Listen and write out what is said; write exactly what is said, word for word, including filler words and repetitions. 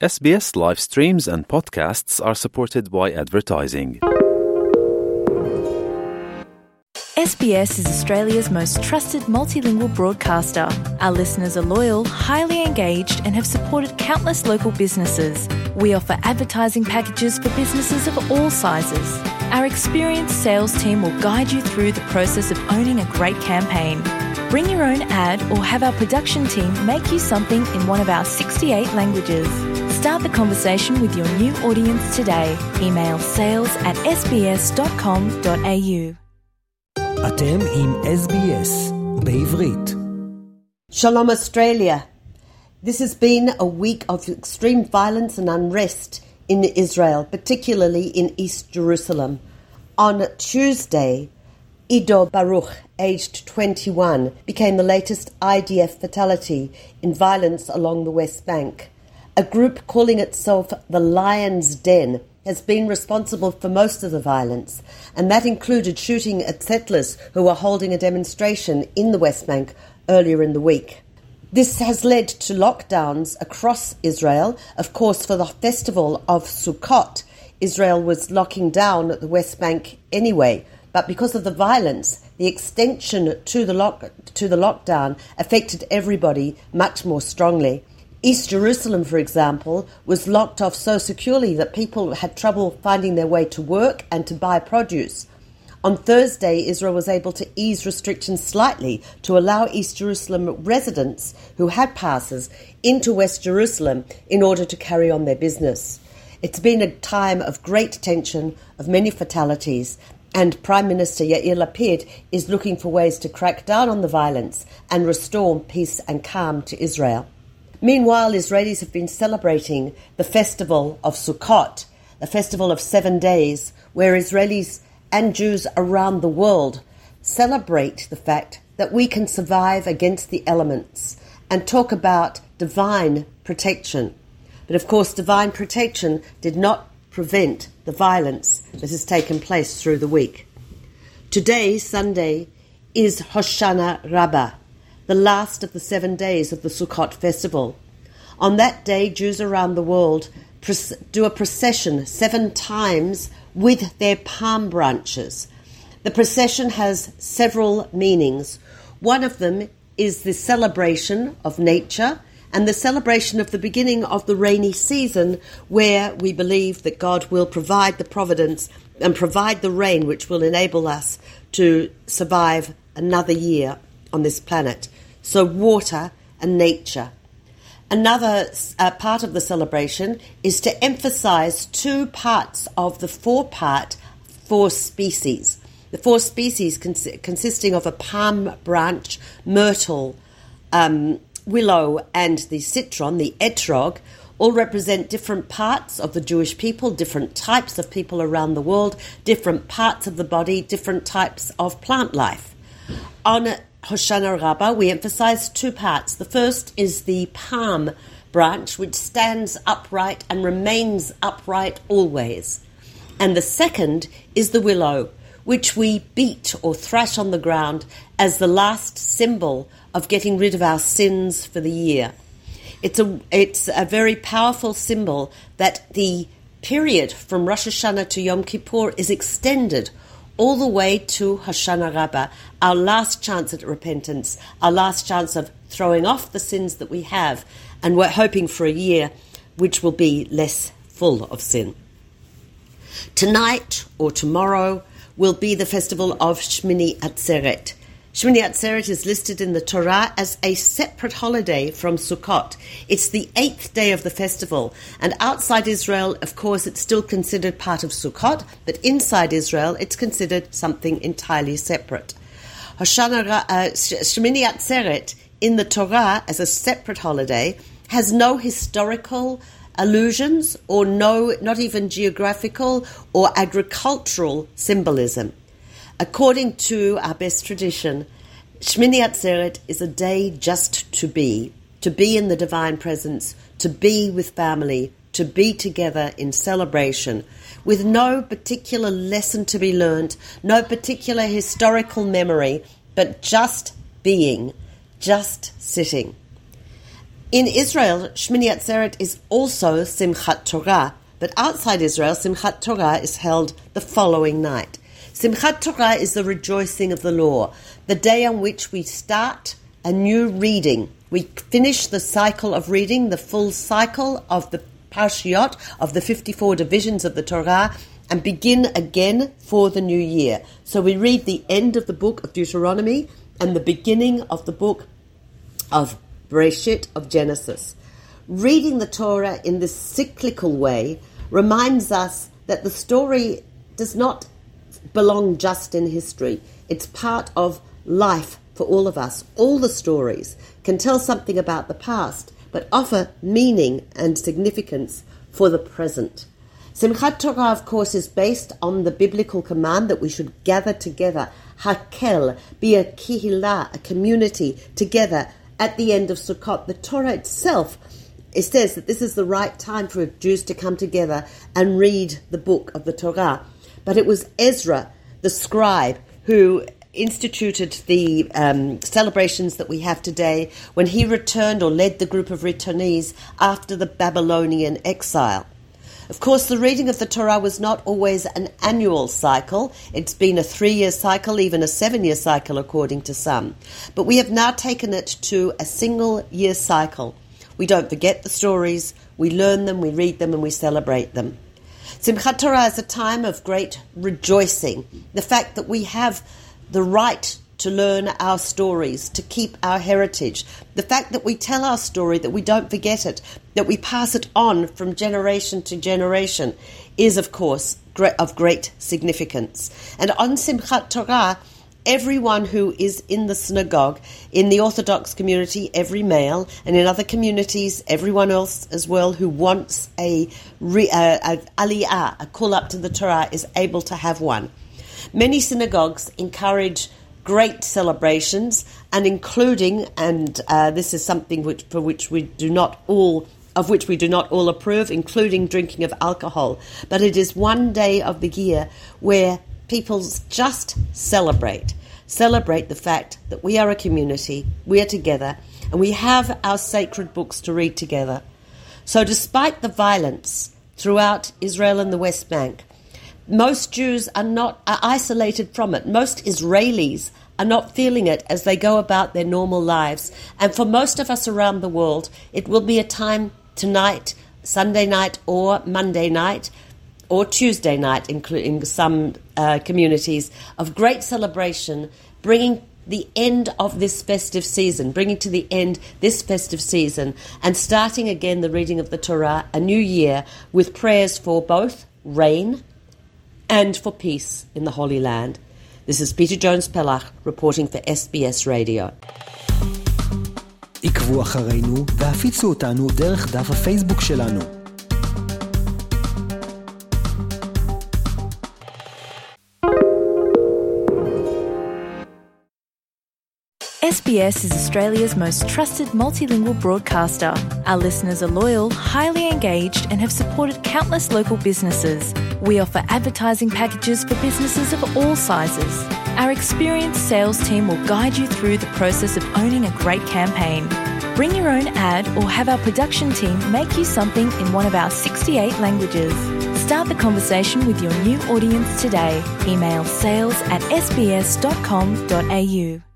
S B S live streams and podcasts are supported by advertising. S B S is Australia's most trusted multilingual broadcaster. Our listeners are loyal, highly engaged, and have supported countless local businesses. We offer advertising packages for businesses of all sizes. Our experienced sales team will guide you through the process of owning a great campaign. Bring your own ad or have our production team make you something in one of our sixty-eight languages. Start the conversation with your new audience today. Email sales at s b s dot com dot a u. אתם עם S B S בעברית. Shalom Australia. This has been a week of extreme violence and unrest in Israel, particularly in East Jerusalem. On Tuesday, Ido Baruch, aged twenty-one, became the latest I D F fatality in violence along the West Bank. A group calling itself the Lion's Den has been responsible for most of the violence, and that included shooting at settlers who were holding a demonstration in the West Bank earlier in the week. This has led to lockdowns across Israel. Of course, for the festival of Sukkot, Israel was locking down the West Bank anyway, but because of the violence, the extension to the lock, to the lockdown affected everybody much more strongly. East Jerusalem, for example, was locked off so securely that people had trouble finding their way to work and to buy produce. On Thursday, Israel was able to ease restrictions slightly to allow East Jerusalem residents who had passes into West Jerusalem in order to carry on their business. It's been a time of great tension, of many fatalities, and Prime Minister Yair Lapid is looking for ways to crack down on the violence and restore peace and calm to Israel. Meanwhile, Israelis have been celebrating the festival of Sukkot, a festival of seven days, where Israelis and Jews around the world celebrate the fact that we can survive against the elements and talk about divine protection. But of course, divine protection did not prevent the violence that has taken place through the week. Today, Sunday, is Hoshana Rabbah, the last of the seven days of the Sukkot festival. On that day, Jews around the world do a procession seven times with their palm branches. The procession has several meanings. One of them is the celebration of nature and the celebration of the beginning of the rainy season, where we believe that God will provide the providence and provide the rain which will enable us to survive another year on this planet. So water and nature. Another uh, part of the celebration is to emphasize two parts of the four-part four species. The four species cons- consisting of a palm branch, myrtle, um, willow, and the citron, the etrog, all represent different parts of the Jewish people, different types of people around the world, different parts of the body, different types of plant life. On Hoshana Rabbah, we emphasize two parts. The first is the palm branch, which stands upright and remains upright always. And the second is the willow, which we beat or thrash on the ground as the last symbol of getting rid of our sins for the year. It's a, it's a very powerful symbol that the period from Rosh Hashanah to Yom Kippur is extended all the way to Hoshana Rabbah, our last chance at repentance, our last chance of throwing off the sins that we have, and we're hoping for a year which will be less full of sin. Tonight or tomorrow will be the festival of Shmini Atzeret. Shmini Atzeret is listed in the Torah as a separate holiday from Sukkot. It's the eighth day of the festival, and outside Israel, of course, it's still considered part of Sukkot, but inside Israel, it's considered something entirely separate. Hoshana, uh, Shmini Atzeret in the Torah as a separate holiday has no historical allusions or no, not even geographical or agricultural symbolism. According to our best tradition, Shmini Atzeret is a day just to be, to be in the divine presence, to be with family, to be together in celebration, with no particular lesson to be learned, no particular historical memory, but just being, just sitting. In Israel, Shmini Atzeret is also Simchat Torah, but outside Israel, Simchat Torah is held the following night. Simchat Torah is the rejoicing of the law, the day on which we start a new reading. We finish the cycle of reading, the full cycle of the Parshiot, of the fifty-four divisions of the Torah, and begin again for the new year. So we read the end of the book of Deuteronomy and the beginning of the book of Bereshit, of Genesis. Reading the Torah in this cyclical way reminds us that the story does not belong just in history. It's part of life for all of us. All the stories can tell something about the past, but offer meaning and significance for the present. Simchat Torah, of course, is based on the biblical command that we should gather together, hakel, be a kihila, a community together at the end of Sukkot. The Torah itself, it says that this is the right time for Jews to come together and read the book of the Torah. But it was Ezra, the scribe, who instituted the um, celebrations that we have today when he returned or led the group of returnees after the Babylonian exile. Of course, the reading of the Torah was not always an annual cycle. It's been a three-year cycle, even a seven-year cycle, according to some. But we have now taken it to a single-year cycle. We don't forget the stories, we learn them, we read them, and we celebrate them. Simchat Torah is a time of great rejoicing. The fact that we have the right to learn our stories, to keep our heritage. The fact that we tell our story, that we don't forget it, that we pass it on from generation to generation is, of course, of great significance. And on Simchat Torah, everyone who is in the synagogue, in the Orthodox community, every male, and in other communities, everyone else as well who wants a, re, a, a aliyah, a call up to the Torah, is able to have one. Many synagogues encourage great celebrations, and including, and uh, this is something which, for which we do not all, of which we do not all approve, including drinking of alcohol. But it is one day of the year where people just celebrate, celebrate the fact that we are a community, we are together, and we have our sacred books to read together. So despite the violence throughout Israel and the West Bank, most Jews are not are isolated from it. Most Israelis are not feeling it as they go about their normal lives. And for most of us around the world, it will be a time tonight, Sunday night or Monday night or Tuesday night, including some uh, communities, of great celebration, bringing the end of this festive season, bringing to the end this festive season, and starting again the reading of the Torah, a new year, with prayers for both rain and for peace in the Holy Land. This is Peter Jones-Pellach reporting for S B S Radio. עקבו אחרינו והפיצו אותנו דרך דף הפייסבוק שלנו. S B S is Australia's most trusted multilingual broadcaster. Our listeners are loyal, highly engaged, and have supported countless local businesses. We offer advertising packages for businesses of all sizes. Our experienced sales team will guide you through the process of owning a great campaign. Bring your own ad or have our production team make you something in one of our sixty-eight languages. Start the conversation with your new audience today. Email sales at s b s dot com dot a u.